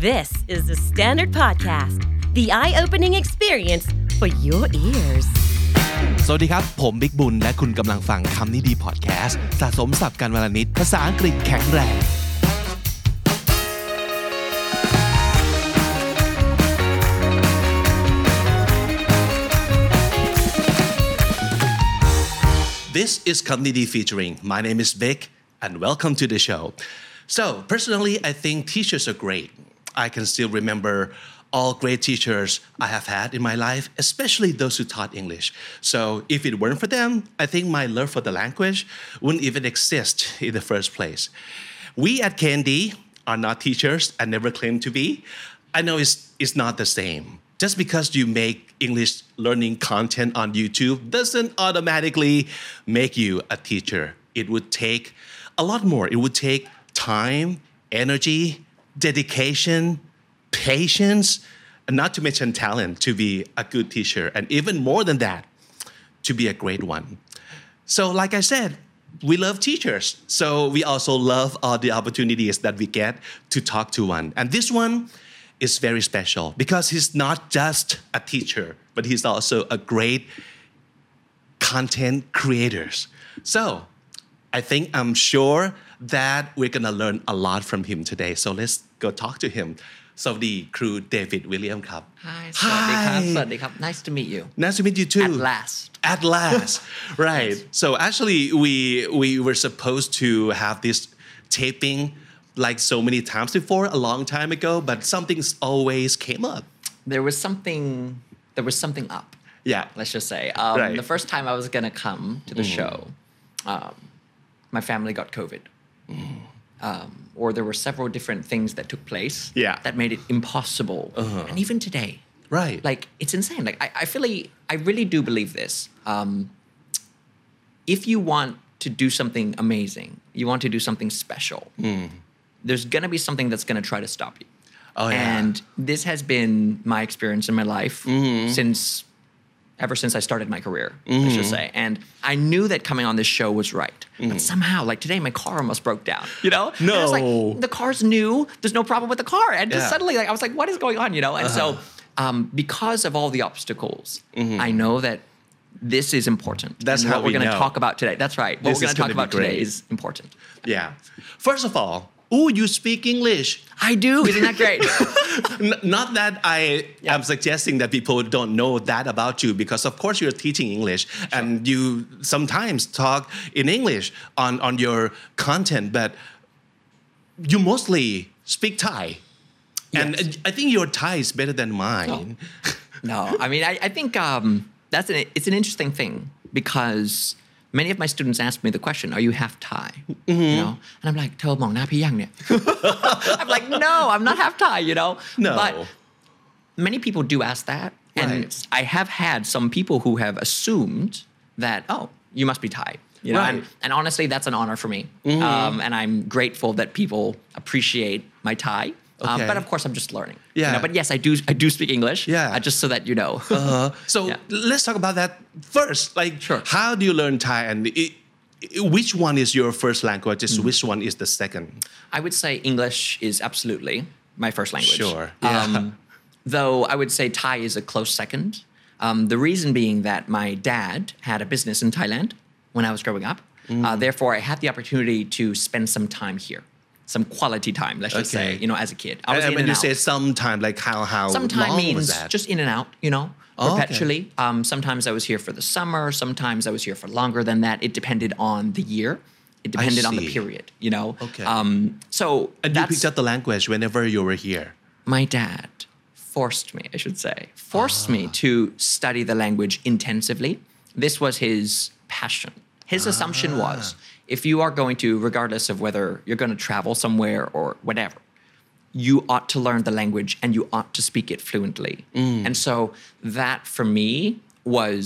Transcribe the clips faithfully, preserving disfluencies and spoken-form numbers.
This is the Standard Podcast, the eye-opening experience for your ears. สวัสดีครับผมบิ๊กบุญและคุณกำลังฟังคำนี้ดีพอดแคสต์สะสมศัพท์กันวลนิดภาษาอังกฤษแข็งแรง This is Community Featuring. My name is Vic and welcome to the show. So, personally, I think teachers are great. I can still remember all great teachers I have had in my life, especially those who taught English. So, if it weren't for them, I think my love for the language wouldn't even exist in the first place. We at K N D are not teachers and never claim to be. I know it's, it's not the same.Just because you make English learning content on YouTube doesn't automatically make you a teacher. It would take a lot more. It would take time, energy, dedication, patience, and not to mention talent to be a good teacher. And even more than that, to be a great one. So like I said, we love teachers. So we also love all the opportunities that we get to talk to one. And this one,is very special because he's not just a teacher, but he's also a great content creator. So I think I'm sure that we're gonna learn a lot from him today. So let's go talk to him. สวัสดีครูเดวิดวิลเลียมครับ Hi สวัสดีครับสวัสดีครับ Nice to meet you Nice to meet you too At last At last Right So actually we we were supposed to have this taping like so many times before a long time ago but something's always came up there was something there was something up yeah let's just say um, right. the first time I was gonna come to the mm. show um, my family got COVID mm. um, or there were several different things that took place yeah. that made it impossible uh-huh. and even today right like it's insane like I, I feel like I really do believe this um, if you want to do something amazing you want to do something special mm. there's going to be something that's going to try to stop you. Oh, yeah. And this has been my experience in my life mm-hmm. since, ever since I started my career, mm-hmm. I should say. And I knew that coming on this show was right. Mm-hmm. But somehow, like today, my car almost broke down, you know? No. And I was like, the car's new. There's no problem with the car. And just yeah. suddenly, like, I was like, what is going on, you know? And uh-huh. so um, because of all the obstacles, mm-hmm. I know that this is important. That's and how what we're we going to know. talk about today. That's right. What this we're going to talk about great. today is important. Yeah. First of all,Oh, you speak English. I do. Isn't that great? Not that I yeah. am suggesting that people don't know that about you because of course you're teaching English sure. and you sometimes talk in English on, on your content, but you mostly speak Thai. Yes. And I think your Thai is better than mine. No, no. I mean, I, I think um, that's an, it's an interesting thing because...Many of my students ask me the question, are you half Thai? Mm-hmm. You know? And I'm like, เธอมองหน้าพี่ยังเนี่ย I'm like, no, I'm not half Thai, you know? No. But many people do ask that. And right. I have had some people who have assumed that, oh, you must be Thai. You know? Right. And, and honestly, that's an honor for me. Mm-hmm. Um, and I'm grateful that people appreciate my Thai.Okay. Um, but of course, I'm just learning. Yeah. You know, but yes, I do. I do speak English. Yeah. Uh, just so that you know. uh-huh. So yeah. let's talk about that first. Like, sure. How do you learn Thai, and it, it, which one is your first language? Mm. Which one is the second? I would say English is absolutely my first language. Sure. Yeah. Um, though I would say Thai is a close second. Um, the reason being that my dad had a business in Thailand when I was growing up. Mm. Uh, therefore, I had the opportunity to spend some time here.Some quality time, let's just okay. say, you know, as a kid. I was and in when and you out. say some time, like how how some time long means was that? just in and out, you know, oh, perpetually. Okay. Um, sometimes I was here for the summer. Sometimes I was here for longer than that. It depended on the year. It depended on the period, you know. Okay. Um, so and you picked up the language whenever you were here. My dad forced me, I should say, forced ah. me to study the language intensively. This was his passion. His ah. assumption was.If you are going to, regardless of whether you're going to travel somewhere or whatever, you ought to learn the language and you ought to speak it fluently. Mm. And so that for me was,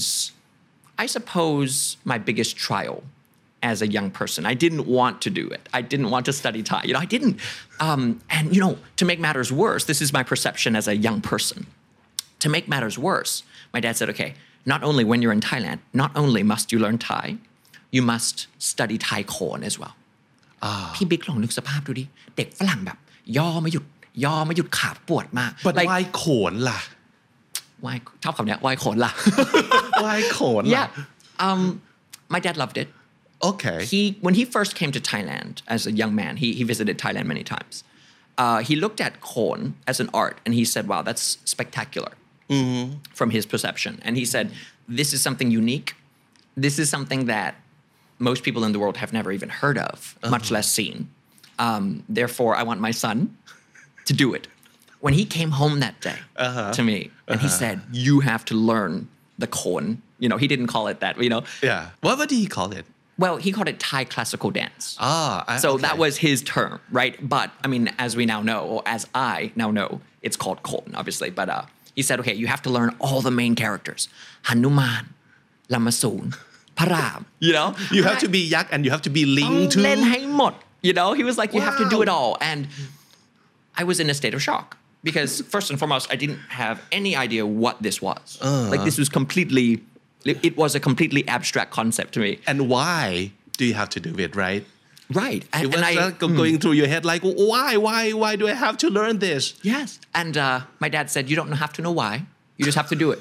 I suppose, my biggest trial as a young person. I didn't want to do it. I didn't want to study Thai. You know, I didn't. Um, and, you know, to make matters worse, this is my perception as a young person. To make matters worse, my dad said, okay, not only when you're in Thailand, not only must you learn Thai,you must study Thai corn as well พี่บิ๊กลองนึกสภาพดูดิเด็กฝรั่งแบบย่อไม่หยุดยอไม่หยุดขาปวดมาก but like why โขนล่ะ why ชอบคำเนี้ย why โขนล่ะ why โขนล่ะ yeah um my dad loved it okay he when he first came to Thailand as a young man he he visited Thailand many times uh, he looked at khon as an art and he said wow that's spectacular mm-hmm. from his perception and he said this is something unique this is something that most people in the world have never even heard of uh-huh. much less seen um, therefore I want my son to do it when he came home that day uh-huh. to me and uh-huh. he said you have to learn the khon you know he didn't call it that you know yeah what, what did he call it well he called it Thai classical dance ah I, so okay. that was his term right but I mean as we now know or as I now know it's called khon obviously but uh, he said okay you have to learn all the main characters Hanuman Lamasoon Param you know you have to be yak and you have to be ling too เล่นให้หมด you know he was like you wow. have to do it all and I was in a state of shock because first and foremost I didn't have any idea what this was uh. like this was completely it was a completely abstract concept to me and why do you have to do it right right and, it was and I like going mm. through your head like why why why do I have to learn this yes and uh, my dad said you don't have to know why you just have to do it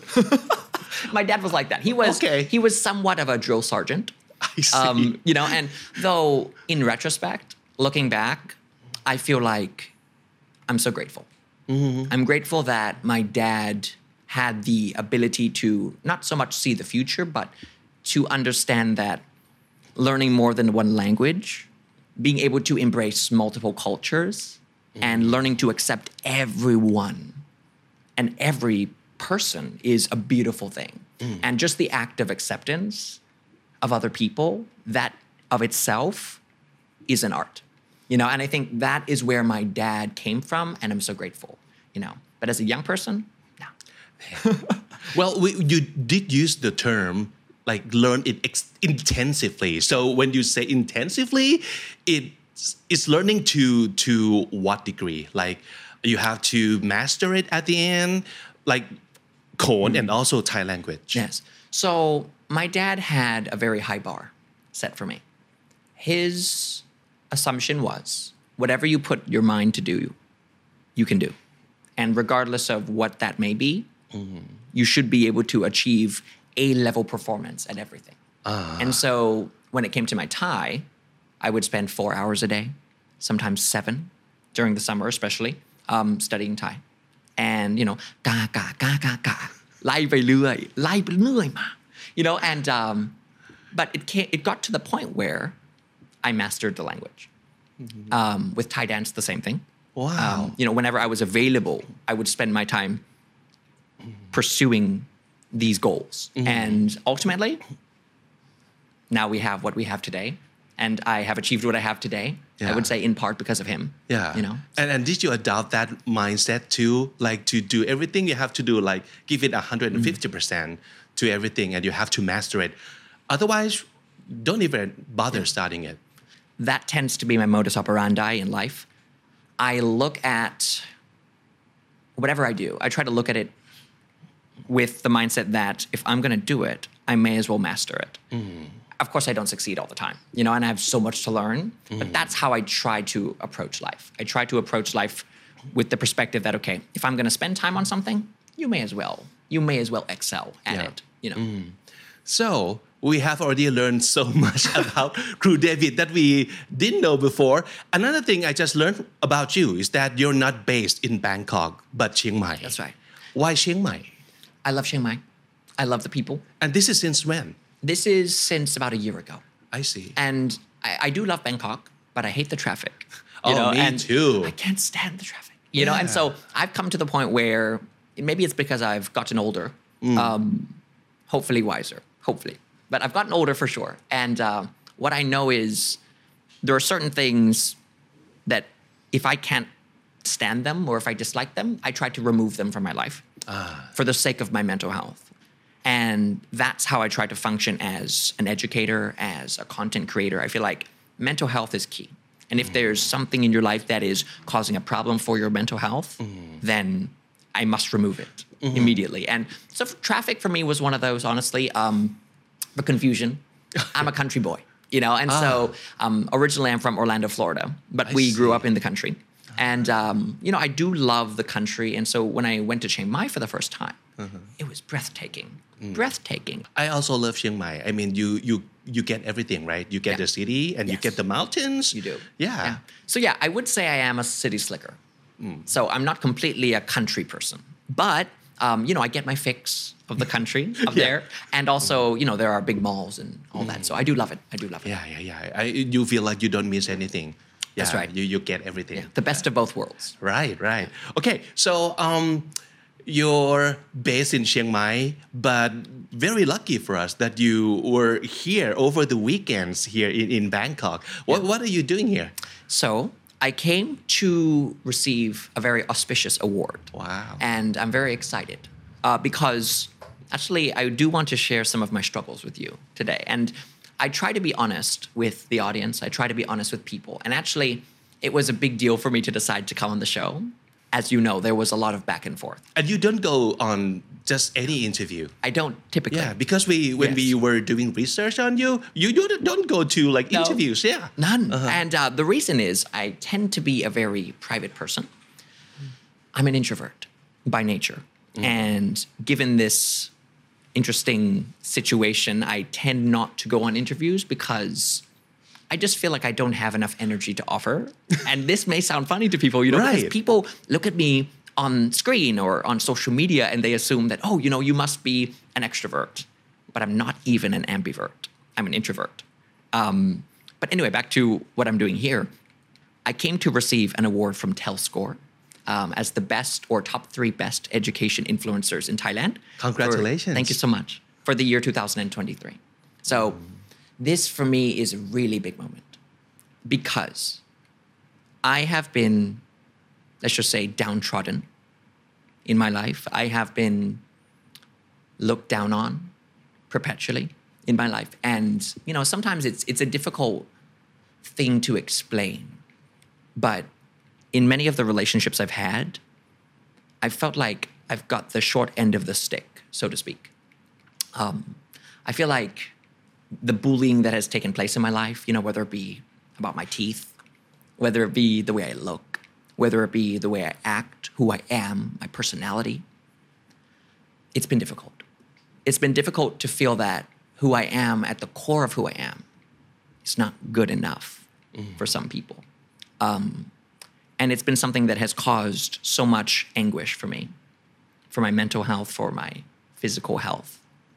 my dad was like that he was okay. he was somewhat of a drill sergeant I see um, you know and though in retrospect looking back I feel like I'm so grateful mm-hmm. I'm grateful that my dad had the ability to not so much see the future but to understand that learning more than one language being able to embrace multiple cultures mm-hmm. and learning to accept everyone and every person is a beautiful thing mm. and just the act of acceptance of other people that of itself is an art you know and I think that is where my dad came from and I'm so grateful you know but as a young person no well we, you did use the term like learn it ex- intensively so when you say intensively it's it's learning to to what degree like you have to master it at the end like Khon mm. and also Thai language yes so my dad had a very high bar set for me his assumption was whatever you put your mind to do you can do and regardless of what that may be mm. you should be able to achieve A-level performance at everything uh. and so when it came to my Thai I would spend four hours a day sometimes seven during the summer especially um, studying Thai and you know กากากากากาไล่ไปเรื่อยไล่ไปเรื่อยมา you know and um, but it came, it got to the point where I mastered the language mm-hmm. um, with Thai dance the same thing wow um, you know whenever I was available I would spend my time pursuing these goals mm-hmm. and ultimately now we have what we have today and I have achieved what I have today yeah. I would say in part because of him yeah you know and and did you adopt that mindset too like to do everything you have to do like give it one hundred fifty percent mm-hmm. to everything and you have to master it otherwise don't even bother yeah. starting it that tends to be my modus operandi in life I look at whatever I do I try to look at it with the mindset that if I'm going to do it I may as well master it mm. of course I don't succeed all the time you know and I have so much to learn mm. but that's how I try to approach life I try to approach life with the perspective that okay if I'm going to spend time on something you may as well you may as well excel at yeah. it you know mm. so we have already learned so much about Crew David that we didn't know before another thing I just learned about you is that you're not based in Bangkok but Chiang Mai that's right why Chiang Mai I love Chiang Mai I love the people and this is since when this is since about a year ago I see and I, I do love Bangkok but I hate the traffic you oh know? me and too I can't stand the traffic you yeah. know and so I've come to the point where maybe it's because I've gotten older mm. um, hopefully wiser hopefully but I've gotten older for sure and uh, what I know is there are certain things that if I can't stand them or if I dislike them I try to remove them from my life ah. for the sake of my mental health and that's how I try to function as an educator as a content creator I feel like mental health is key and if mm. there's something in your life that is causing a problem for your mental health mm. then I must remove it mm-hmm. immediately and so traffic for me was one of those honestly um, the confusion I'm a country boy you know and ah. so um, originally I'm from Orlando Florida but I we see. grew up in the country And, um, you know, I do love the country. And so when I went to Chiang Mai for the first time, it was breathtaking. Breathtaking. I also love Chiang Mai. I mean, you you you get everything, right? You get Yeah. the city and you Yes. get the mountains. You do. Yeah. So yeah, I would say I am a city slicker. So I'm not completely a country person, but um, you know, I get my fix of the country up Yeah. there, and also you know there are big malls and all that. So I do love it. I do love it. Yeah, yeah, yeah. I, you feel like you don't miss anything. Yeah, That's right. You you get everything. Yeah, the best of both worlds. Right, right. Okay, so um, you're based in Chiang Mai, but very lucky for us that you were here over the weekends here in, in Bangkok. What, what are you doing here? So I came to receive a very auspicious award. Wow. And I'm very excited uh, because actually I do want to share some of my struggles with you today. And I try to be honest with the audience. I try to be honest with people. And actually, it was a big deal for me to decide to come on the show. As you know, there was a lot of back and forth. And you don't go on just any interview. I don't typically. Yeah, because we when Yes. we were doing research on you, you don't, don't go to like No. interviews. Yeah. None. And uh, the reason is I tend to be a very private person. I'm an introvert by nature. And given this interesting situation, I tend not to go on interviews because I just feel like I don't have enough energy to offer. And this may sound funny to people, you know, Right. because people look at me on screen or on social media and they assume that, oh, you know, you must be an extrovert. But I'm not even an ambivert. I'm an introvert. Um, but anyway, back to what I'm doing here. I came to receive an award from TelScore um, as the best or top three best education influencers in Thailand. Congratulations. For, thank you so much. For the year two thousand twenty-three. So this for me is a really big moment because I have been, let's just say, downtrodden in my life. I have been looked down on perpetually in my life. And, you know, sometimes it's it's a difficult thing to explain. But in many of the relationships I've had, I felt like I've got the short end of the stick, so to speak. Um, I feel like the bullying that has taken place in my life, you know, whether it be about my teeth, whether it be the way I look, whether it be the way I act, who I am, my personality, it's been difficult. It's been difficult to feel that who I am at the core of who I am is not good enough for some people. Um, and it's been something that has caused so much anguish for me, for my mental health, for my physical health.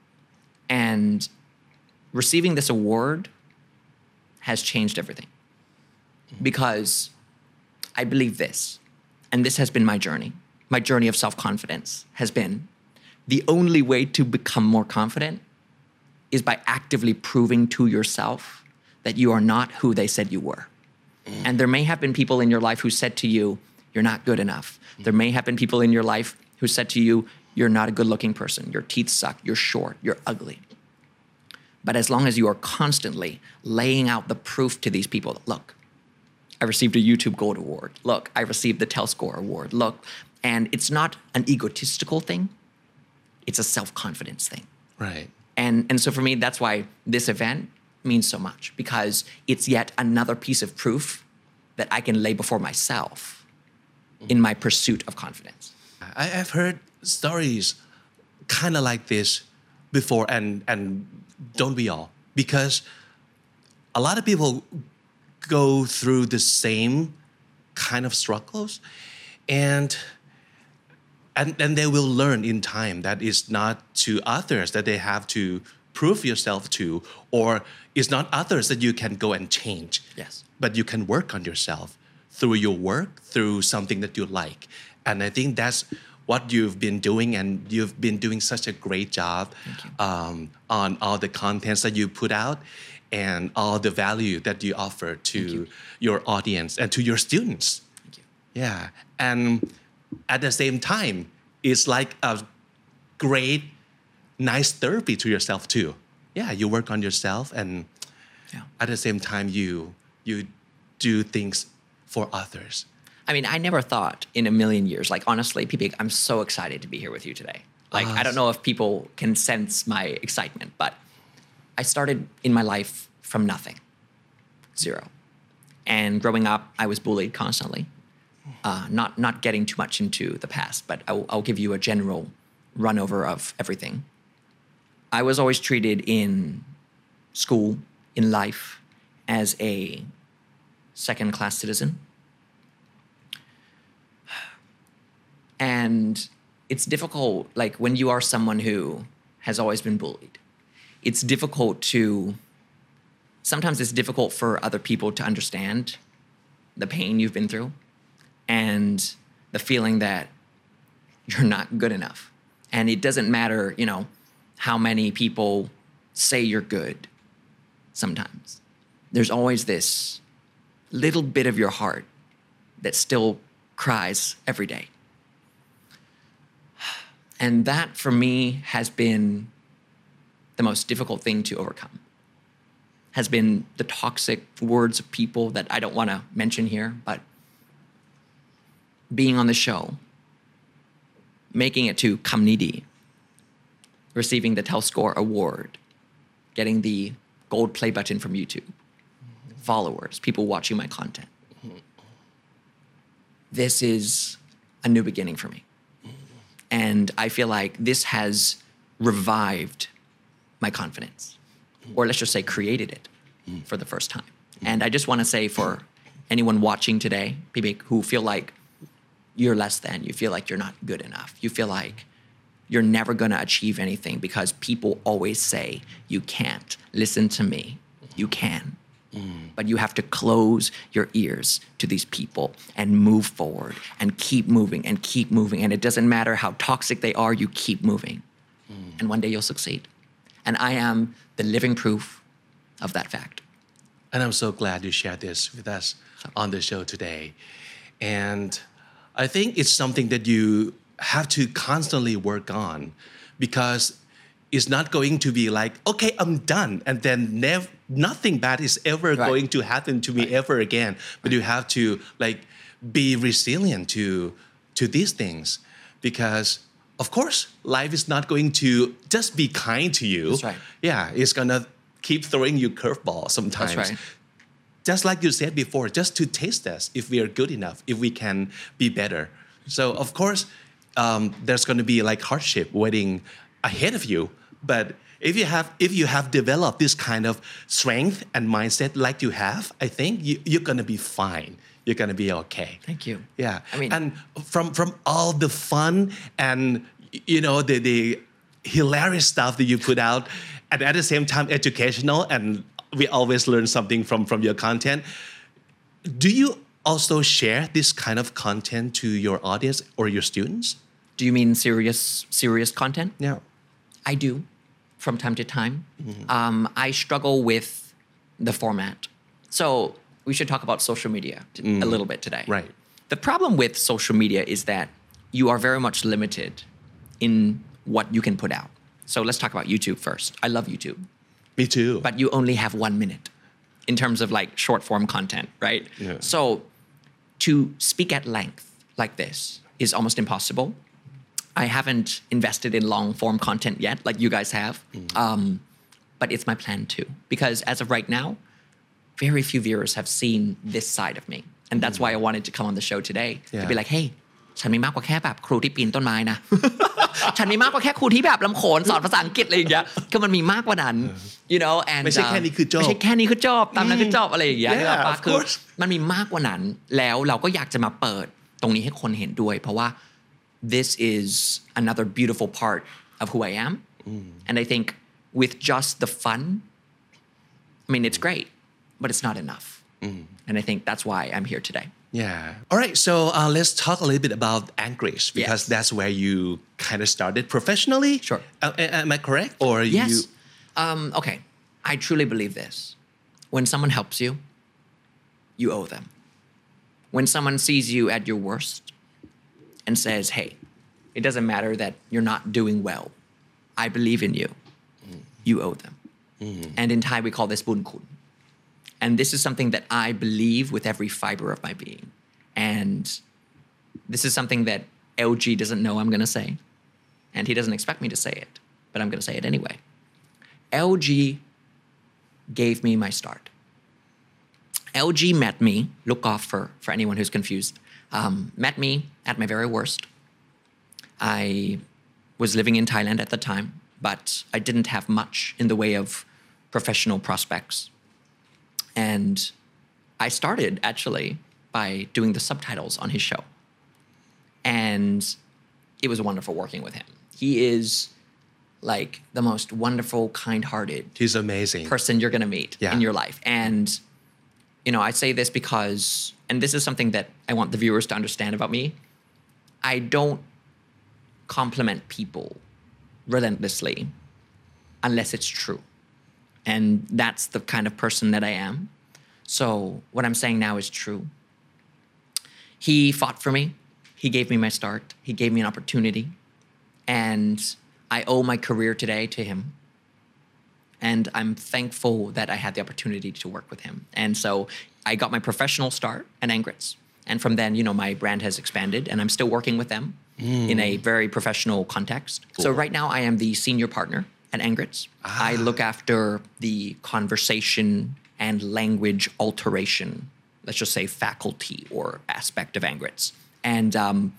And receiving this award has changed everything because I believe this, and this has been my journey. My journey of self-confidence has been the only way to become more confident is by actively proving to yourself that you are not who they said you were. And there may have been people in your life who said to you, you're not good enough. There may have been people in your life who said to you, you're not a good looking person. Your teeth suck. You're short. You're ugly. But as long as you are constantly laying out the proof to these people that, look, I received a YouTube Gold Award. Look, I received the TelScore Award. Look, and it's not an egotistical thing. It's a self-confidence thing. Right. And, and so for me, that's why this event means so much because it's yet another piece of proof that I can lay before myself in my pursuit of confidence. I, I've heard stories kind of like this before, and and don't we all? Because a lot of people go through the same kind of struggles, and and and they will learn in time that it's not to others that they have to prove yourself to, or it's not others that you can go and change. Yes. But you can work on yourself through your work, through something that you like. And I think that's what you've been doing, and you've been doing such a great job um, on all the contents that you put out and all the value that you offer to you. your audience and to your students. Thank you. Yeah. And at the same time, it's like a great, nice therapy to yourself too. Yeah, you work on yourself, and Yeah. at the same time, you you do things for others. I mean, I never thought in a million years, like honestly, P P, I'm so excited to be here with you today. Like, I don't know if people can sense my excitement, but I started in my life from nothing, zero. And growing up, I was bullied constantly. uh, not not getting too much into the past, but I'll, I'll give you a general run over of everything. I was always treated in school, in life, as a second-class citizen. And it's difficult, like when you are someone who has always been bullied, it's difficult to, sometimes it's difficult for other people to understand the pain you've been through and the feeling that you're not good enough. And it doesn't matter, you know, how many people say you're good sometimes. There's always this little bit of your heart that still cries every day. And that for me has been the most difficult thing to overcome. Has been the toxic words of people that I don't want to mention here, but being on the show, making it to Kamnidi, receiving the Telscore Award, getting the gold play button from YouTube, mm-hmm. followers, people watching my content. Mm-hmm. This is a new beginning for me. Mm-hmm. And I feel like this has revived my confidence, mm-hmm. or let's just say created it mm-hmm. for the first time. Mm-hmm. And I just want to say for anyone watching today, people who feel like you're less than, you feel like you're not good enough, you feel like you're never going to achieve anything because people always say, you can't. Listen to me. You can. Mm. But you have to close your ears to these people and move forward and keep moving and keep moving. And it doesn't matter how toxic they are, you keep moving. Mm. And one day you'll succeed. And I am the living proof of that fact. And I'm so glad you shared this with us on the show today. And I think it's something that you have to constantly work on because it's not going to be like, okay, I'm done. And then nev- nothing bad is ever right. going to happen to me right. ever again. But right. you have to like be resilient to, to these things because of course, life is not going to just be kind to you. That's right. Yeah, it's going to keep throwing you curveballs sometimes. That's right. Just like you said before, just to taste us if we are good enough, if we can be better. So of course, um, there's going to be like hardship waiting ahead of you. But if you have if you have developed this kind of strength and mindset like you have, I think you, you're going to be fine. You're going to be okay. Thank you. Yeah. I mean, and from from all the fun and you know the the hilarious stuff that you put out, and at the same time educational, and we always learn something from from your content. Do you also share this kind of content to your audience or your students? Do you mean serious serious content? Yeah. I do from time to time. Mm-hmm. Um, I struggle with the format. So we should talk about social media t- mm. a little bit today. Right. The problem with social media is that you are very much limited in what you can put out. So let's talk about YouTube first. I love YouTube. Me too. But you only have one minute in terms of like short form content, right? Yeah. So to speak at length like this is almost impossible. I haven't invested in long form content yet, like you guys have. Mm. Um, but it's my plan too. Because as of right now, very few viewers have seen this side of me. And that's mm. why I wanted to come on the show today. Yeah. To be like, hey, ฉันมีมากกว่าแค่แบบครูที่ปีนต้นไม้นะ ฉันมีมากกว่าแค่ครูที่แบบลำโขนสอนภาษาอังกฤษอะไรอย่างเงี้ยคือมันมีมากกว่านั้น you know and ไม่ใช่แค่นี้คือจบไม่ใช่แค่นี้คือจบตามนั้นคือจบอะไรอย่างเงี้ย yeah, ปะคือมันมีมากกว่านั้นแล้วเราก็อยากจะมาเปิดตรงนี้ให้คนเห็นด้วยเพราะว่า this is another beautiful part of who I am mm. and I think with just the fun I mean it's great but it's not enough mm. and I think that's why I'm here today. Yeah. All right. So uh, let's talk a little bit about Anchorage because yes. that's where you kind of started professionally. Sure. Uh, am I correct? Or yes. you? Um, okay. I truly believe this. When someone helps you, you owe them. When someone sees you at your worst and says, "Hey, it doesn't matter that you're not doing well. I believe in you." Mm. You owe them. Mm. And in Thai we call this bun kun. And this is something that I believe with every fiber of my being. And this is something that L G doesn't know I'm going to say. And he doesn't expect me to say it. But I'm going to say it anyway. L G gave me my start. L G met me, look off for, for anyone who's confused, um, met me at my very worst. I was living in Thailand at the time, but I didn't have much in the way of professional prospects. And I started actually by doing the subtitles on his show. And it was wonderful working with him. He is like the most wonderful, kind-hearted He's amazing. person you're going to meet Yeah. in your life. And, you know, I say this because, and this is something that I want the viewers to understand about me. I don't compliment people relentlessly unless it's true. And that's the kind of person that I am. So what I'm saying now is true. He fought for me. He gave me my start. He gave me an opportunity. And I owe my career today to him. And I'm thankful that I had the opportunity to work with him. And so I got my professional start at Angrits. And from then, you know, my brand has expanded and I'm still working with them mm. in a very professional context. Cool. So right now I am the senior partner at Angrits. Ah. I look after the conversation and language alteration, let's just say faculty or aspect of Angrits. And um,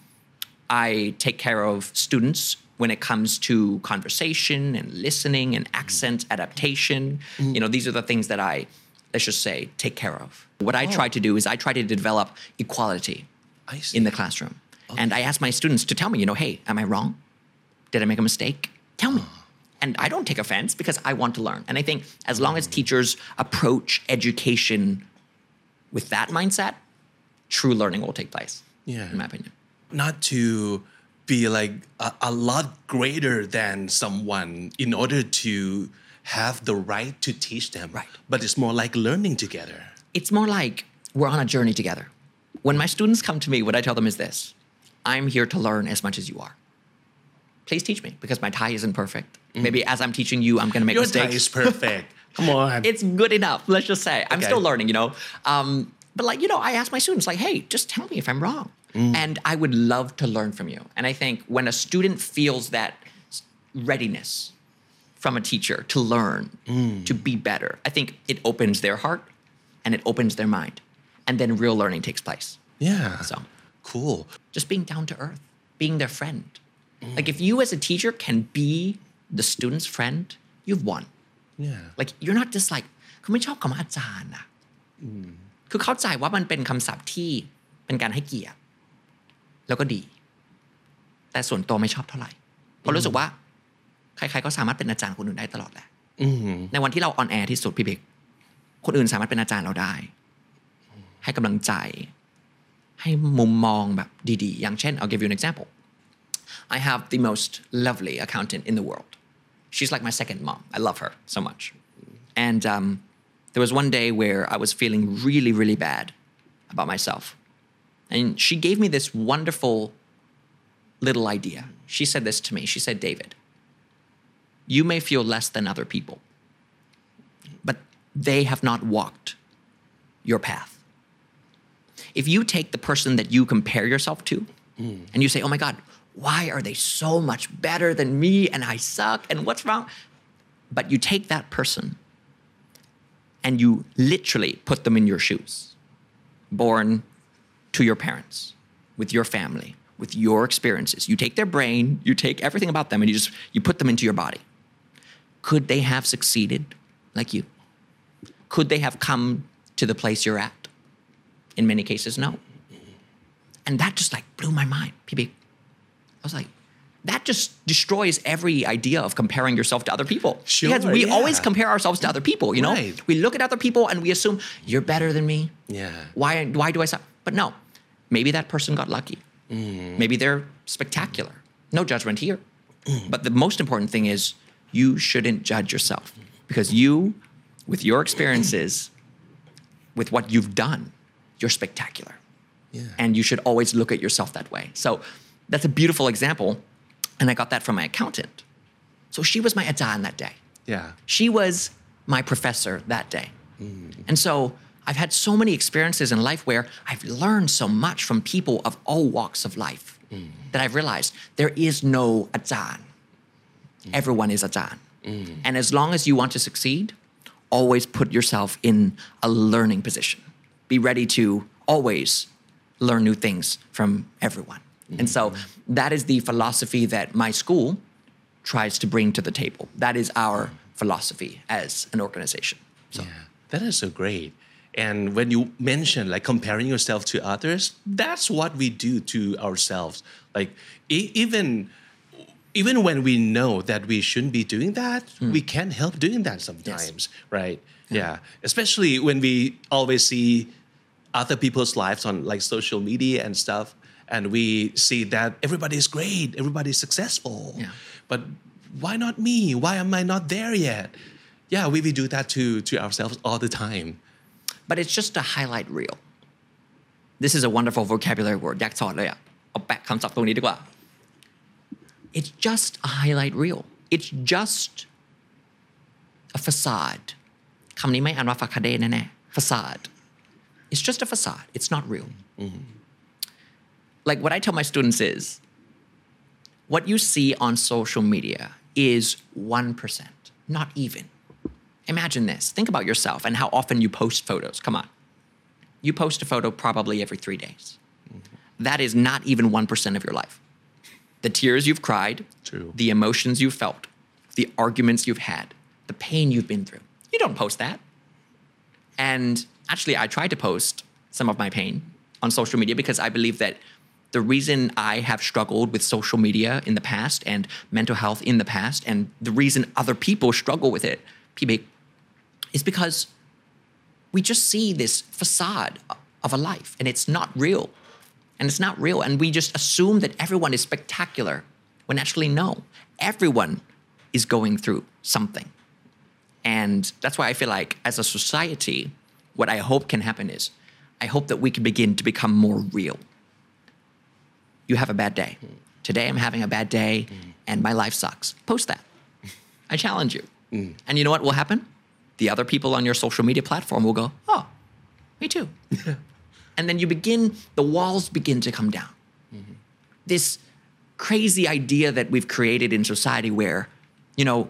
I take care of students when it comes to conversation and listening and accent adaptation. Mm. You know, these are the things that I, let's just say, take care of. What I oh. try to do is I try to develop equality in the classroom. Okay. And I ask my students to tell me, you know, hey, am I wrong? Did I make a mistake? Tell me. Oh. And I don't take offense because I want to learn. And I think as long as teachers approach education with that mindset, true learning will take place, yeah. in my opinion. Not to be like a, a lot greater than someone in order to have the right to teach them. Right. But it's more like learning together. It's more like we're on a journey together. When my students come to me, what I tell them is this: I'm here to learn as much as you are. Please teach me, because my Thai isn't perfect. Mm. Maybe as I'm teaching you, I'm going to make Your mistakes. Thai is perfect. Come on. It's good enough, let's just say. I'm okay. still learning, you know. Um, but like, you know, I ask my students like, hey, just tell me if I'm wrong. Mm. And I would love to learn from you. And I think when a student feels that readiness from a teacher to learn, mm. to be better, I think it opens their heart and it opens their mind. And then real learning takes place. Yeah. So cool. Just being down to earth, being their friend. Mm. Like if you as a teacher can be the student's friend, you've won. Yeah. Like you're not just like คือไม่ชอบคำว่าอาจารย์นะคือเข้าใจว่ามันเป็นคำศัพท์ที่เป็นการให้เกียรติแล้วก็ดีแต่ส่วนตัวไม่ชอบเท่าไหร่เพราะรู้สึกว่าใครๆก็สามารถเป็นอาจารย์คนอื่นได้ตลอดแหละในวันที่เราออนแอร์ที่สุดพี่เบกคนอื่นสามารถเป็นอาจารย์เราได้ให้กำลังใจให้มุมมองแบบดีๆอย่างเช่น I'll give you an example I have the most lovely accountant in the world. She's like my second mom. I love her so much. And um, there was one day where I was feeling really, really bad about myself. And she gave me this wonderful little idea. She said this to me. She said, David, you may feel less than other people, but they have not walked your path. If you take the person that you compare yourself to mm. and you say, oh my God, why are they so much better than me and I suck and what's wrong? But you take that person and you literally put them in your shoes, born to your parents, with your family, with your experiences. You take their brain, you take everything about them and you just, you put them into your body. Could they have succeeded like you? Could they have come to the place you're at? In many cases, no. And that just like blew my mind, P B. I was like, that just destroys every idea of comparing yourself to other people. Sure, because we yeah. always compare ourselves to other people, you know? Right. We look at other people and we assume, you're better than me. Yeah. Why, why do I suck? But no, maybe that person got lucky. Mm. Maybe they're spectacular. No judgment here. Mm. But the most important thing is you shouldn't judge yourself. Because you, with your experiences, with what you've done, you're spectacular. Yeah. And you should always look at yourself that way. So that's a beautiful example. And I got that from my accountant. So she was my ajahn that day. Yeah. She was my professor that day. Mm. And so I've had so many experiences in life where I've learned so much from people of all walks of life mm. that I've realized there is no ajahn. Mm. Everyone is ajahn. Mm. And as long as you want to succeed, always put yourself in a learning position. Be ready to always learn new things from everyone. Mm-hmm. And so that is the philosophy that my school tries to bring to the table. That is our philosophy as an organization. So. Yeah, that is so great. And when you mention like comparing yourself to others, that's what we do to ourselves. Like e- even even when we know that we shouldn't be doing that, mm. we can't help doing that sometimes, yes. right? Yeah. yeah, especially when we always see other people's lives on like social media and stuff, and we see that everybody's great, everybody's successful, yeah. but why not me? Why am I not there yet? Yeah, we, we do that to to ourselves all the time. But it's just a highlight reel. This is a wonderful vocabulary word อยากสอนเลยอ่ะเอาแปะคำศัพท์ตรงนี้ดีกว่า It's just a highlight reel. It's just a facade. คำนี้ไม่อ่านว่า facade แน่ๆ facade. It's just a facade. It's not real. Mm-hmm. Like what I tell my students is, what you see on social media is one percent, not even. Imagine this. Think about yourself and how often you post photos. Come on. You post a photo probably every three days. Mm-hmm. That is not even one percent of your life. The tears you've cried, True. The emotions you've felt, the arguments you've had, the pain you've been through. You don't post that. And actually, I try to post some of my pain on social media because I believe that the reason I have struggled with social media in the past and mental health in the past, and the reason other people struggle with it, P B, is because we just see this facade of a life and it's not real. And it's not real. And we just assume that everyone is spectacular when actually no, everyone is going through something. And that's why I feel like as a society, what I hope can happen is I hope that we can begin to become more real. You have a bad day. Today I'm having a bad day and my life sucks. Post that. I challenge you. Mm. And you know what will happen? The other people on your social media platform will go, oh, me too. And then you begin, the walls begin to come down. Mm-hmm. This crazy idea that we've created in society where, you know,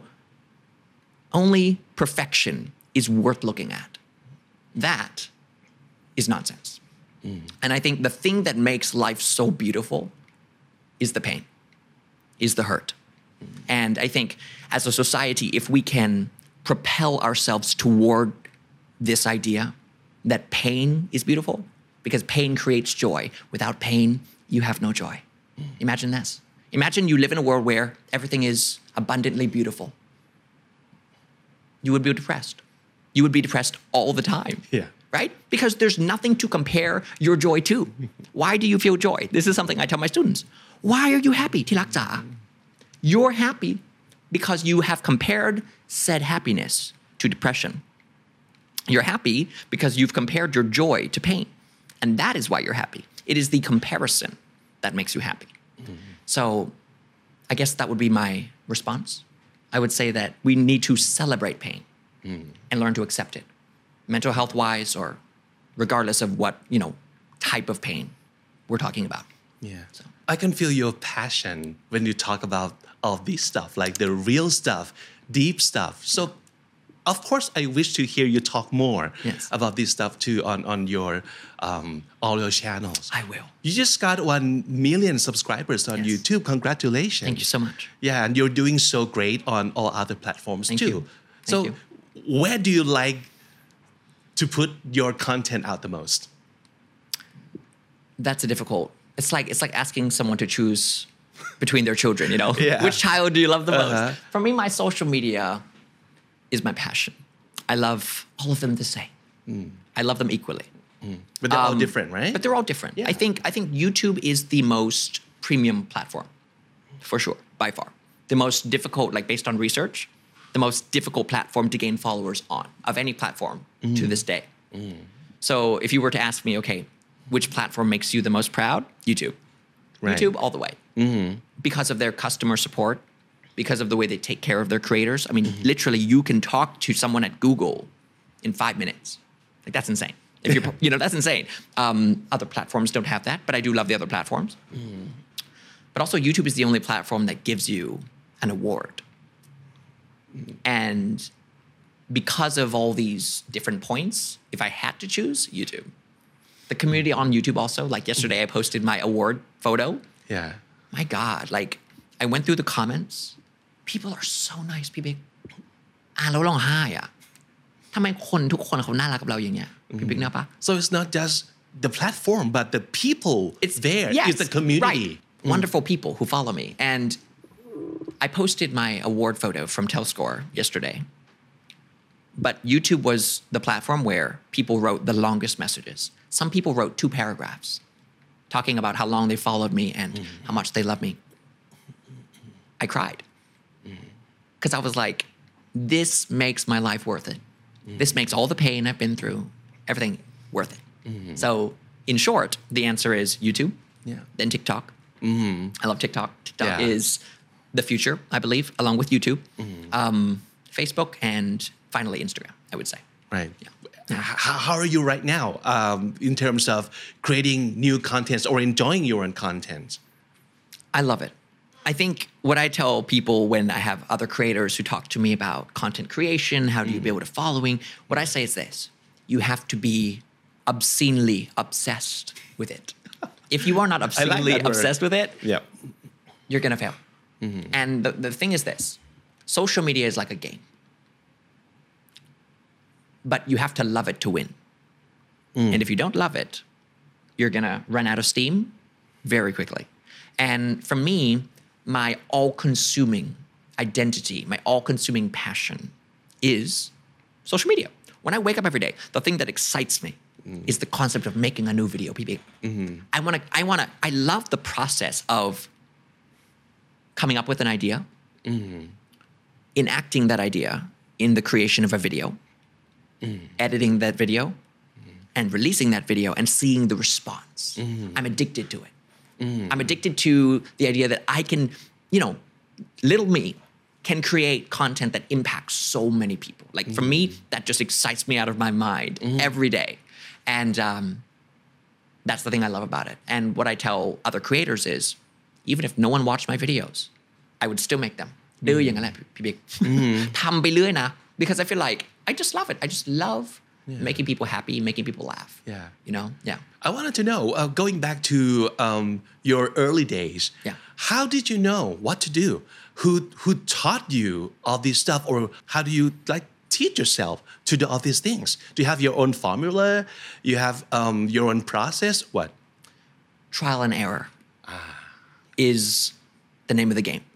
only perfection is worth looking at. That is nonsense. Mm. And I think the thing that makes life so beautiful is the pain, is the hurt. Mm. And I think as a society, if we can propel ourselves toward this idea that pain is beautiful, because pain creates joy. Without pain, you have no joy. Mm. Imagine this. Imagine you live in a world where everything is abundantly beautiful. You would be depressed. You would be depressed all the time. Yeah. Right? Because there's nothing to compare your joy to. Why do you feel joy? This is something I tell my students. Why are you happy, ที่รักจ๋า You're happy because you have compared said happiness to depression. You're happy because you've compared your joy to pain. And that is why you're happy. It is the comparison that makes you happy. Mm-hmm. So I guess that would be my response. I would say that we need to celebrate pain mm. and learn to accept it. Mental health wise or regardless of what, you know, type of pain we're talking about. Yeah. So. I can feel your passion when you talk about all this stuff, like the real stuff, deep stuff. So of course, I wish to hear you talk more yes. about this stuff too on, on your um, all your channels. I will. You just got one million subscribers on yes. YouTube. Congratulations. Thank you so much. Yeah, and you're doing so great on all other platforms Thank too. You. Thank so you. where do you like to put your content out the most? That's a difficult. It's like it's like asking someone to choose between their children, you know? Yeah. Which child do you love the most? Uh-huh. For me, my social media is my passion. I love all of them the same. Mm. I love them equally. Mm. But they're um, all different, right? But they're all different. Yeah. I think I think YouTube is the most premium platform, for sure, by far. The most difficult, like based on research, the most difficult platform to gain followers on of any platform mm. to this day. Mm. So if you were to ask me, okay, which platform makes you the most proud? YouTube. Right. YouTube all the way. Mm-hmm. Because of their customer support, because of the way they take care of their creators. I mean, mm-hmm. literally, you can talk to someone at Google in five minutes. Like, that's insane. If you're, you know, that's insane. Um, other platforms don't have that, but I do love the other platforms. Mm. But also, YouTube is the only platform that gives you an award. Mm. And because of all these different points, if I had to choose, YouTube. The community on YouTube also. Like yesterday, I posted my award photo. Yeah. My God, like I went through the comments. People are so nice. พี่บิ๊กอ่านแล้วร้องไห้อ่ะทำไมคนทุกคนเขาน่ารักกับเราอย่างเงี้ยพี่บิ๊กเนี่ยปะ So it's not just the platform, but the people It's there. Yes, It's the community. Right. Wonderful people who follow me. And I posted my award photo from Telscore yesterday. But YouTube was the platform where people wrote the longest messages. Some people wrote two paragraphs talking about how long they followed me and mm-hmm. how much they love me. I cried. Because mm-hmm. I was like, this makes my life worth it. Mm-hmm. This makes all the pain I've been through, everything worth it. Mm-hmm. So in short, the answer is YouTube, yeah. then TikTok. Mm-hmm. I love TikTok. TikTok yeah. is the future, I believe, along with YouTube, mm-hmm. um, Facebook, and finally Instagram, I would say. Right. Yeah. How, how are you right now um, in terms of creating new contents or enjoying your own content? I love it. I think what I tell people when I have other creators who talk to me about content creation, how do you build a following, what I say is this. You have to be obscenely obsessed with it. If you are not obscenely like obsessed with it, yeah. you're going to fail. Mm-hmm. And the, the thing is this. Social media is like a game. But you have to love it to win. Mm. And if you don't love it, you're going to run out of steam very quickly. And for me, my all-consuming identity, my all-consuming passion is social media. When I wake up every day, the thing that excites me mm. is the concept of making a new video, P B. Mm-hmm. I want to, I want to, I love the process of coming up with an idea, mm-hmm. enacting that idea in the creation of a video, mm. editing that video, mm. and releasing that video and seeing the response. Mm. I'm addicted to it. Mm. I'm addicted to the idea that I can, you know, little me can create content that impacts so many people. Like for mm. me, that just excites me out of my mind mm. every day. And um, that's the thing I love about it. And what I tell other creators is, even if no one watched my videos, I would still make them. ดื้ออย่างนั้นแหละพี่บิ๊กทำไปเรื่อยนะ because I feel like I just love it. I just love yeah. making people happy, making people laugh. Yeah. You know? Yeah. I wanted to know, uh, going back to um, your early days, yeah. how did you know what to do? Who who taught you all this stuff, or how do you like teach yourself to do all these things? Do you have your own formula? You have um, your own process? What? Trial and error ah. is the name of the game.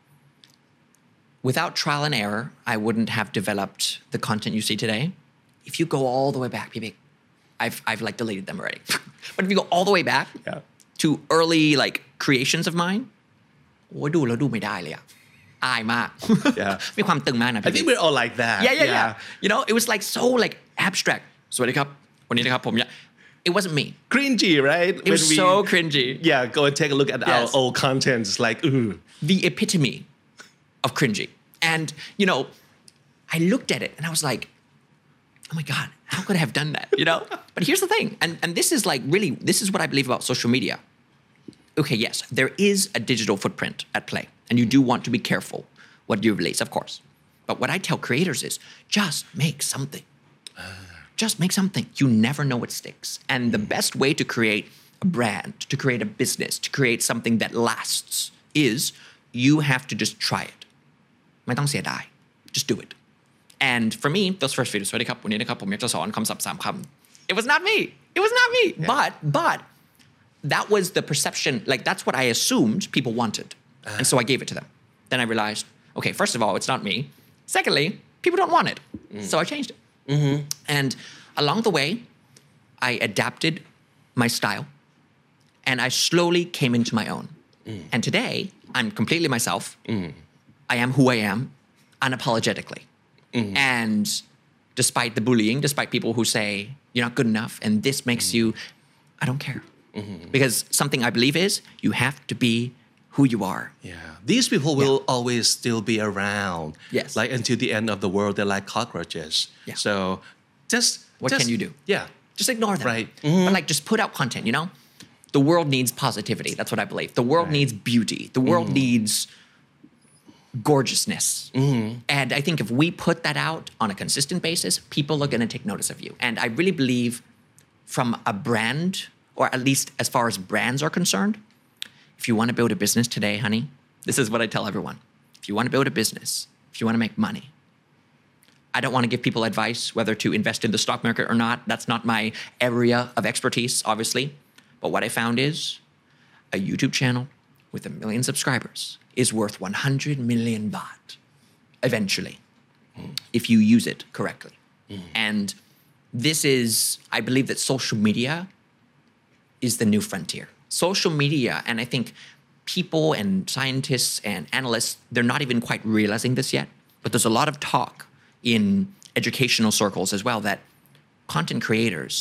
Without trial and error, I wouldn't have developed the content you see today. If you go all the way back, P B, I've I've like deleted them already. But if you go all the way back yeah. to early like creations of mine, โอ้ยดูแล้วดูไม่ได้เลยอะอายมาก Yeah. มีความตึงมากนะ I think we're all like that. Yeah, yeah, yeah, yeah. You know, it was like so like abstract. สวัสดีครับวันนี้นะครับผม It wasn't me. Cringy, right? It was we, so cringy. Yeah, go and take a look at yes. our old content. It's like, ooh. The epitome of cringy. And, you know, I looked at it and I was like, oh my God, how could I have done that? You know? But here's the thing. And, and this is like really, this is what I believe about social media. Okay, yes, there is a digital footprint at play. And you do want to be careful what you release, of course. But what I tell creators is just make something. Just make something. You never know what sticks. And the best way to create a brand, to create a business, to create something that lasts is you have to just try it. ไม่ต้องเสียดาย just do it. And for me, those first videos, สวัสดีครับวันนี้นะครับผมอยากจะสอนคำศัพท์สามคำ It was not me. It was not me. Yeah. But but that was the perception. Like that's what I assumed people wanted, uh. and so I gave it to them. Then I realized, okay, first of all, it's not me. Secondly, people don't want it, mm. so I changed it. Mm-hmm. And along the way, I adapted my style, and I slowly came into my own. Mm. And today, I'm completely myself. Mm. I am who I am, unapologetically. Mm-hmm. And despite the bullying, despite people who say you're not good enough and this makes mm-hmm. you, I don't care. Mm-hmm. Because something I believe is you have to be who you are. Yeah. These people will yeah. always still be around. Yes. Like until the end of the world, they're like cockroaches. Yeah. So just... What just, can you do? Yeah. Just ignore them. Right. Mm-hmm. But like just put out content, you know? The world needs positivity. That's what I believe. The world right. needs beauty. The world mm-hmm. needs... gorgeousness. Mm-hmm. And I think if we put that out on a consistent basis, people are going to take notice of you. And I really believe from a brand, or at least as far as brands are concerned, if you want to build a business today, honey, this is what I tell everyone. If you want to build a business, if you want to make money, I don't want to give people advice whether to invest in the stock market or not. That's not my area of expertise, obviously. But what I found is a YouTube channel with a million subscribers is worth one hundred million baht eventually, mm. if you use it correctly. Mm. And this is, I believe that social media is the new frontier. Social media, and I think people and scientists and analysts, they're not even quite realizing this yet, but there's a lot of talk in educational circles as well that content creators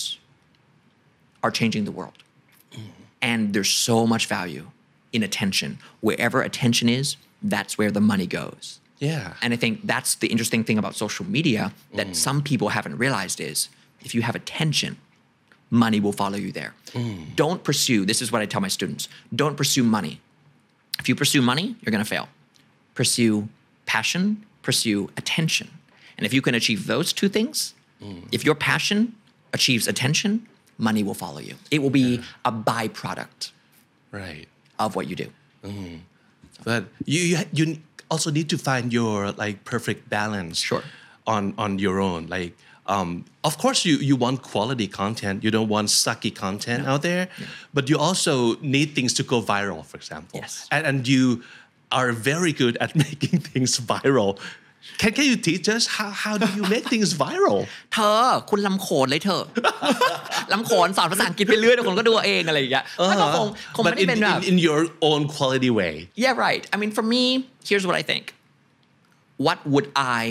are changing the world. Mm. And there's so much value in attention. Wherever attention is, that's where the money goes. Yeah. And I think that's the interesting thing about social media that mm. some people haven't realized is if you have attention, money will follow you there. Mm. Don't pursue, this is what I tell my students, don't pursue money. If you pursue money, you're going to fail. Pursue passion, pursue attention. And if you can achieve those two things, mm. if your passion achieves attention, money will follow you. It will be yeah. a byproduct right. of what you do. Mm. But you, you you also need to find your like perfect balance sure. on on your own. Like, um, of course, you you want quality content. You don't want sucky content no. out there, yeah. but you also need things to go viral. For example, yes. and, and you are very good at making things viral. Can can you teach us how how do you make things viral? เธอคุณลำโขนเลยเธอ ลำโขนสอนภาษาอังกฤษไปเรื่อยเดี๋ยวคนก็ดูเองอะไรอย่างเงี้ยมันก็คงคงไม่ได้เป็นแบบ in your own quality way. Yeah, right. I mean, for me, here's what I think. What would I?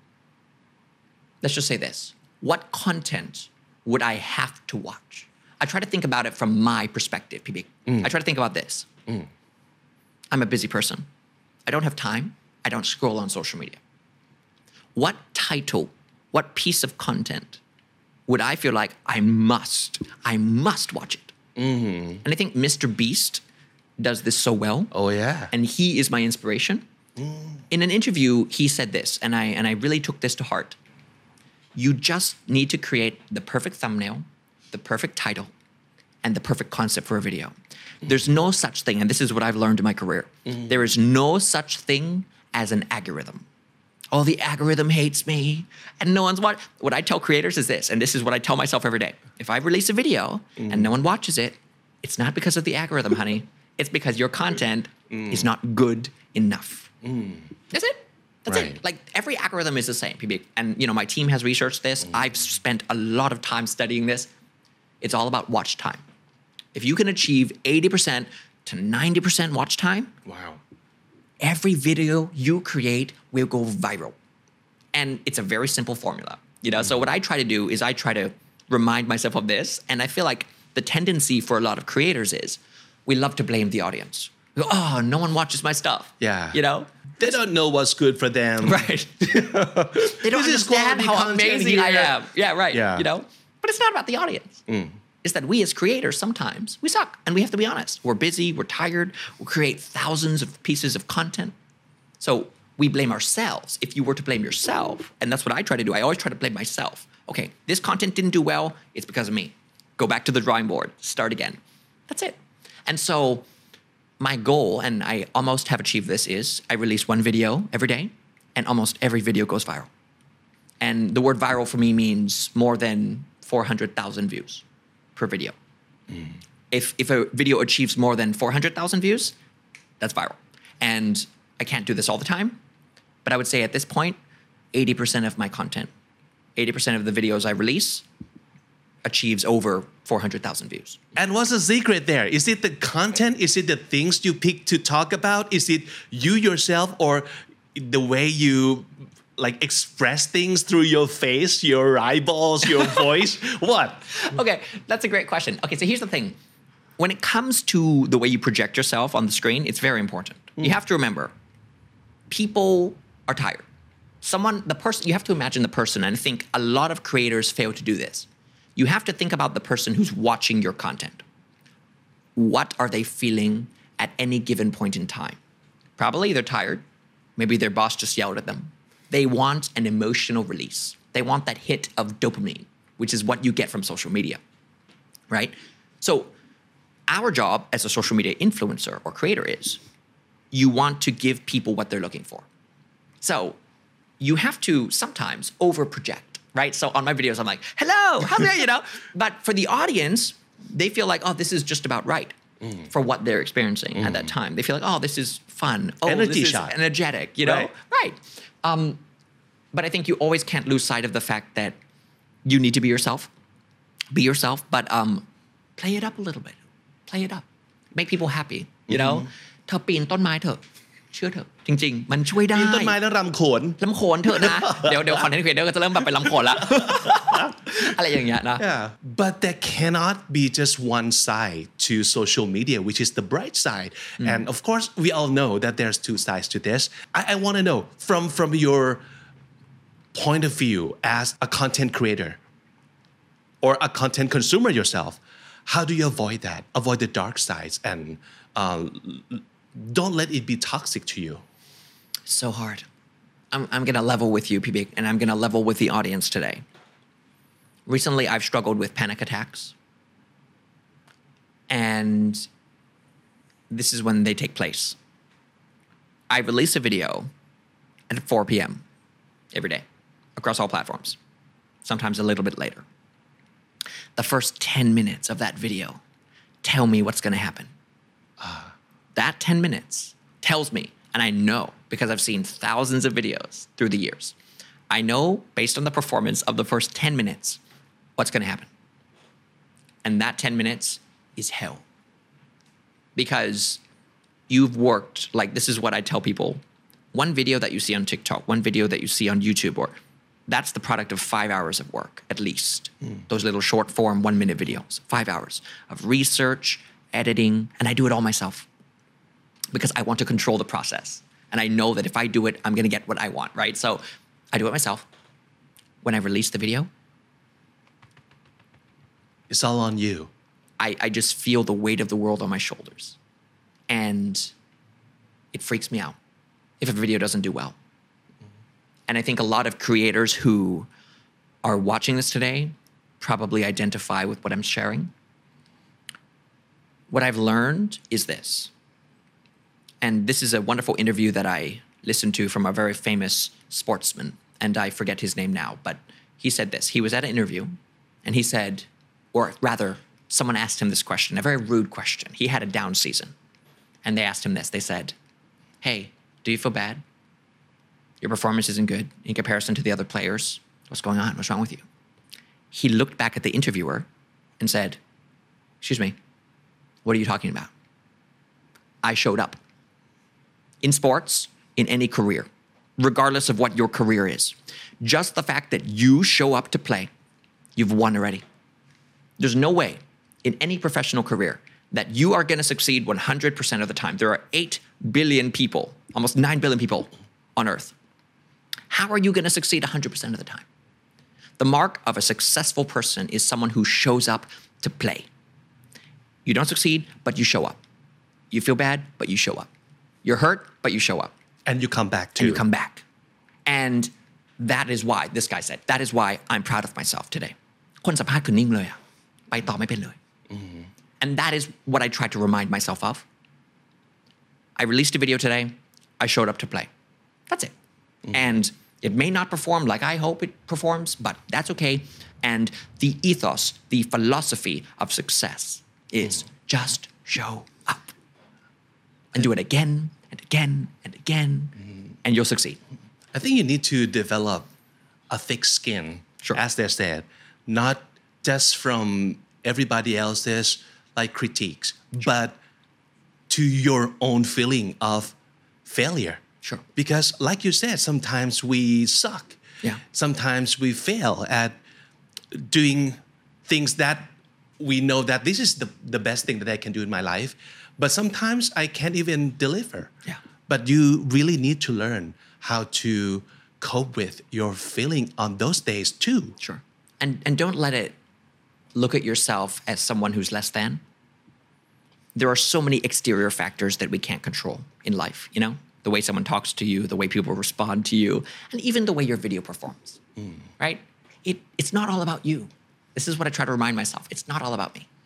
Let's just say this. What content would I have to watch? I try to think about it from my perspective, P B. Mm. I try to think about this. Mm. I'm a busy person. I don't have time. I don't scroll on social media. What title, what piece of content would I feel like I must, I must watch it? Mm-hmm. And I think Mister Beast does this so well. Oh, yeah. And he is my inspiration. Mm. In an interview, he said this, and I, and I really took this to heart. You just need to create the perfect thumbnail, the perfect title, and the perfect concept for a video. Mm. There's no such thing, and this is what I've learned in my career. Mm. There is no such thing as an algorithm. Oh, the algorithm hates me, and no one's watching. What I tell creators is this, and this is what I tell myself every day. If I release a video mm. and no one watches it, it's not because of the algorithm, honey. It's because your content mm. is not good enough. Mm. That's it. That's right. it. Like every algorithm is the same, P B. And you know, my team has researched this. Mm. I've spent a lot of time studying this. It's all about watch time. If you can achieve eighty percent to ninety percent watch time, wow. every video you create will go viral. And it's a very simple formula. You know, mm-hmm. so what I try to do is I try to remind myself of this. And I feel like the tendency for a lot of creators is we love to blame the audience. We go, oh, no one watches my stuff. Yeah. You know? They don't know what's good for them. Right. They don't understand how amazing here. I am. Yeah, right. Yeah. You know? But it's not about the audience. Mm. Is that we as creators sometimes, we suck. And we have to be honest. We're busy, we're tired, we create thousands of pieces of content. So we blame ourselves. If you were to blame yourself, and that's what I try to do, I always try to blame myself. Okay, this content didn't do well, it's because of me. Go back to the drawing board, start again. That's it. And so my goal, and I almost have achieved this, is I release one video every day, and almost every video goes viral. And the word viral for me means more than four hundred thousand views per video. Mm. If, if a video achieves more than four hundred thousand views, that's viral. And I can't do this all the time, but I would say at this point, eighty percent of my content, eighty percent of the videos I release achieves over four hundred thousand views. And what's the secret there? Is it the content? Is it the things you pick to talk about? Is it you yourself, or the way you like express things through your face, your eyeballs, your voice? What? Okay, that's a great question. Okay, so here's the thing. When it comes to the way you project yourself on the screen, it's very important. Mm. You have to remember, people are tired. Someone, the person, you have to imagine the person, and I think a lot of creators fail to do this. You have to think about the person who's watching your content. What are they feeling at any given point in time? Probably they're tired. Maybe their boss just yelled at them. They want an emotional release. They want that hit of dopamine, which is what you get from social media. right? So our job as a social media influencer or creator is you want to give people what they're looking for. So you have to sometimes over project, right? So on my videos, I'm like, hello, how are you, you know? But for the audience, they feel like, oh, this is just about right mm. for what they're experiencing mm. at that time. They feel like, oh, this is fun. Oh, Energy this is shot. energetic, you know? Right. right. Um, but I think you always can't lose sight of the fact that you need to be yourself. Be yourself, but um, play it up a little bit. Play it up. Make people happy, you know? เธอปีนต้นไม้เถอะเชื่อเถอะจริงๆมันช่วยได้ปีนต้นไม้แล้วรำโขนลำโขนเถอะนะ เดี๋ยวเดี๋ยวคอนเทนต์ครีเอเตอร์ก็จะเริ่มแบบเป็นลำโขนละ อะไรอย่างเงี้ยนะ Yeah, but there cannot be just one side to social media, which is the bright side. Mm. And of course, we all know that there's two sides to this. I, I want to know from from your point of view as a content creator or a content consumer yourself, how do you avoid that? Avoid the dark sides and uh, don't let it be toxic to you. So hard. I'm, I'm going to level with you, P B, and I'm going to level with the audience today. Recently, I've struggled with panic attacks. And this is when they take place. I release a video at four p.m. every day across all platforms, sometimes a little bit later. The first ten minutes of that video tell me what's going to happen. Uh, that ten minutes tells me, and I know because I've seen thousands of videos through the years, I know based on the performance of the first ten minutes what's going to happen. And that ten minutes is hell. Because you've worked, like this is what I tell people, one video that you see on TikTok, one video that you see on YouTube, or that's the product of five hours of work, at least. Mm. Those little short form, one minute videos, five hours of research, editing, and I do it all myself because I want to control the process. And I know that if I do it, I'm going to get what I want, right? So I do it myself. When I release the video, it's all on you. I, I just feel the weight of the world on my shoulders. And it freaks me out if a video doesn't do well. And I think a lot of creators who are watching this today probably identify with what I'm sharing. What I've learned is this. And this is a wonderful interview that I listened to from a very famous sportsman. And I forget his name now, but he said this. He was at an interview and he said, or rather, someone asked him this question, a very rude question. He had a down season. And they asked him this. They said, hey, do you feel bad? Your performance isn't good in comparison to the other players. What's going on? What's wrong with you? He looked back at the interviewer and said, excuse me, what are you talking about? I showed up. In sports, in any career, regardless of what your career is, just the fact that you show up to play, you've won already. There's no way in any professional career that you are going to succeed one hundred percent of the time. There are eight billion people, almost nine billion people on earth. How are you going to succeed one hundred percent of the time? The mark of a successful person is someone who shows up to play. You don't succeed, but you show up. You feel bad, but you show up. You're hurt, but you show up. And you come back too. And you come back. And that is why, this guy said, that is why I'm proud of myself today. คนสัมภาษณ์คือนิ่งเลยอะไปต่อไม่เป็นเลย And that is what I try to remind myself of. I released a video today. I showed up to play. That's it. Mm-hmm. And it may not perform like I hope it performs, but that's okay. And the ethos, the philosophy of success is mm. just show up. And do it again and again and again, mm. and you'll succeed. I think you need to develop a thick skin, sure. as they said, not just from everybody else's like critiques, sure. but to your own feeling of failure. Sure. Because like you said, sometimes we suck. Yeah. Sometimes we fail at doing things that we know that this is the, the best thing that I can do in my life. But sometimes I can't even deliver. Yeah. But you really need to learn how to cope with your feeling on those days too. Sure. And and don't let it look at yourself as someone who's less than. There are so many exterior factors that we can't control in life, you know? The way someone talks to you, the way people respond to you, and even the way your video performs, mm. right? It, it's not all about you. This is what I try to remind myself. It's not all about me.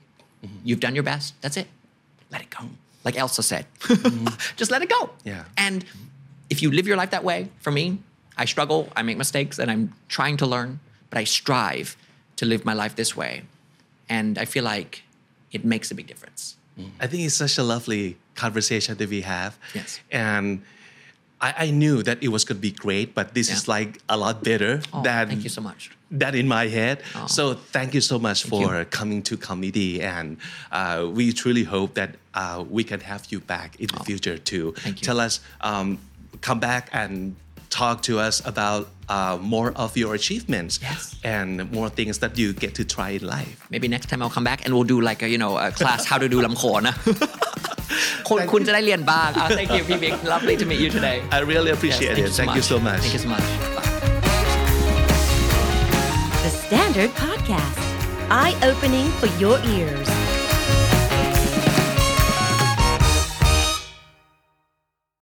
You've done your best. That's it. Let it go. Like Elsa said, just let it go. Yeah. And if you live your life that way, for me, I struggle, I make mistakes, and I'm trying to learn, but I strive to live my life this way. And I feel like it makes a big difference. I think it's such a lovely conversation that we have. Yes. And I, I knew that it was going to be great, but this Yeah. is like a lot better Oh, than thank you so much. that in my head. Oh. So thank you so much for you. coming to comedy, and uh, we truly hope that uh, we can have you back in the future to Thank you. tell us, um, come back and talk to us about uh, more of your achievements Yes. and more things that you get to try in life. Maybe next time I'll come back and we'll do like a, you know, a class how to do ลำโขนนะ คุณคุณจะได้เรียนบ้าง Ah, thank you, P Vic. Lovely to meet you today. I really Yes, appreciate it. Thank you so much. Thank you so much. Bye. The Standard Podcast, eye-opening for your ears.